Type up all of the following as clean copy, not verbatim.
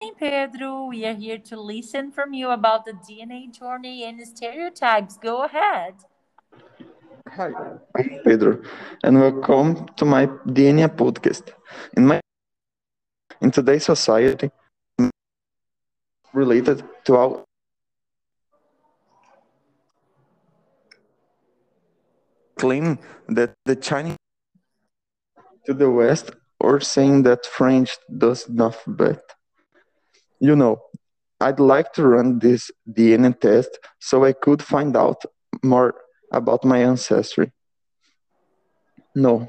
Pedro. We are here to listen from you about the DNA journey and stereotypes. Go ahead. Hi, I'm Pedro, and welcome to my DNA podcast. In today's society, related to our claim that the Chinese to the West or saying that French does not bet. You know, I'd like to run this DNA test so I could find out more about my ancestry. Know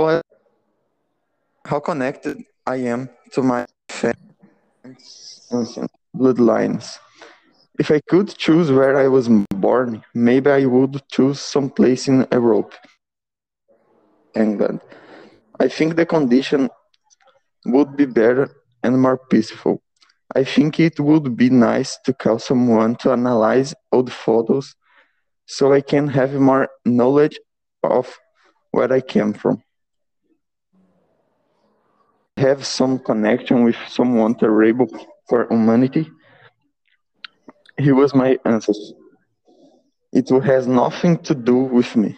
how connected I am to my ancient bloodlines. If I could choose where I was born, maybe I would choose some place in Europe, England. I think the condition would be better and more peaceful. I think it would be nice to call someone to analyze old photos so I can have more knowledge of where I came from. Have some connection with someone terrible for humanity. He was my ancestor. It has nothing to do with me.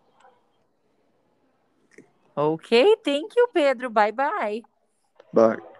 Okay, thank you, Pedro. Bye bye. But